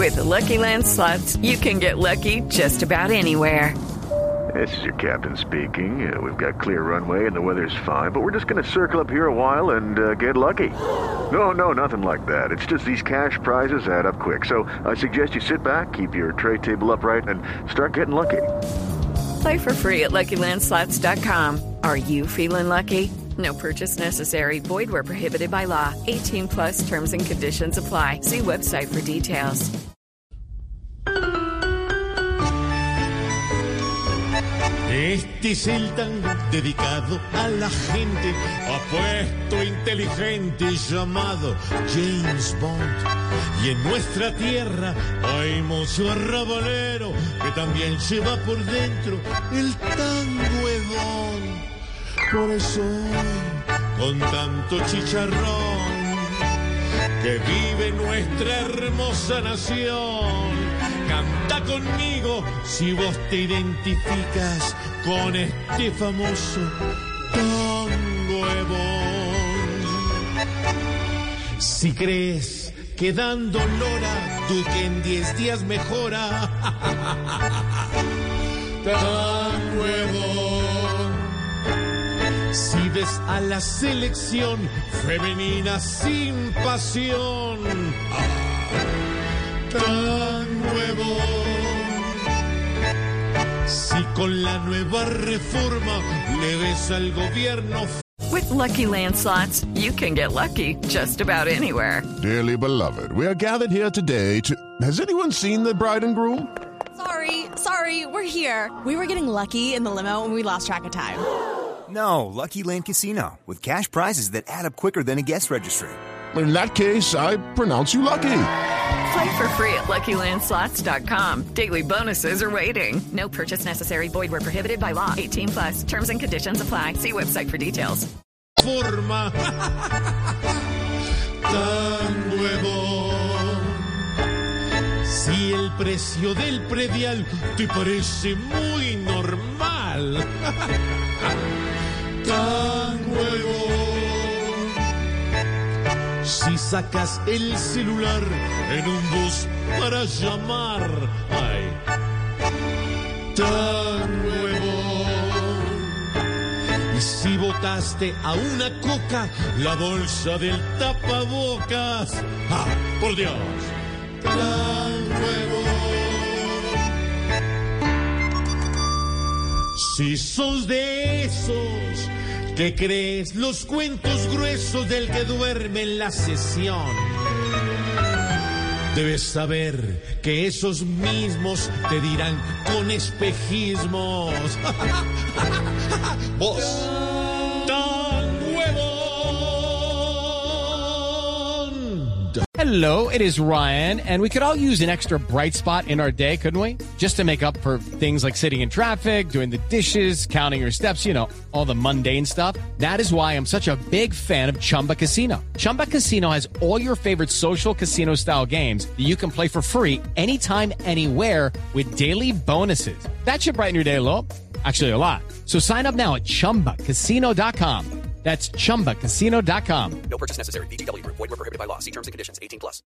With the Lucky Land Slots, you can get lucky just about anywhere. This is your captain speaking. We've got clear runway and the weather's fine, but we're just going to circle up here a while and get lucky. No, nothing like that. It's just these cash prizes add up quick. So I suggest you sit back, keep your tray table upright, and start getting lucky. Play for free at LuckyLandSlots.com. Are you feeling lucky? No purchase necessary. Void where prohibited by law. 18 plus terms and conditions apply. See website for details. Este es el tango dedicado a la gente apuesto, inteligente, llamado James Bond. Y en nuestra tierra hay mucho arrabalero que también lleva por dentro el tango hedón. Por eso hoy, con tanto chicharrón, que vive nuestra hermosa nación, canta conmigo si vos te identificas con este famoso tango hedón. Si crees que dando lora tú que en 10 días mejora, tango hedón. Si ves a la selección femenina sin pasión, tan nuevo. Si con la nueva reforma le ves al gobierno. With Lucky Land Slots, you can get lucky just about anywhere. Dearly beloved, we are gathered here today to... Has anyone seen the bride and groom? Sorry, we're here. We were getting lucky in the limo and we lost track of time. No, Lucky Land Casino, with cash prizes that add up quicker than a guest registry. In that case, I pronounce you lucky. Play for free at LuckyLandSlots.com. Daily bonuses are waiting. No purchase necessary. Void where prohibited by law. 18 plus. Terms and conditions apply. See website for details. Forma tan nuevo. Si el precio del predial te parece muy normal, tan nuevo. Si sacas el celular en un bus para llamar, ay, tan nuevo. Y si botaste a una coca la bolsa del tapabocas, ¡ah, por Dios! Tan nuevo. Si sos de esos que crees los cuentos gruesos del que duerme en la sesión, debes saber que esos mismos te dirán con espejismos: vos tan nuevo. Hello, it is Ryan, and we could all use an extra bright spot in our day, couldn't we? Just to make up for things like sitting in traffic, doing the dishes, counting your steps, you know, all the mundane stuff. That is why I'm such a big fan of Chumba Casino. Chumba Casino has all your favorite social casino-style games that you can play for free anytime, anywhere with daily bonuses. That should brighten your day a little. Actually, a lot. So sign up now at ChumbaCasino.com. That's ChumbaCasino.com. No purchase necessary. VGW Group. Void where prohibited by law. See terms and conditions. 18 plus.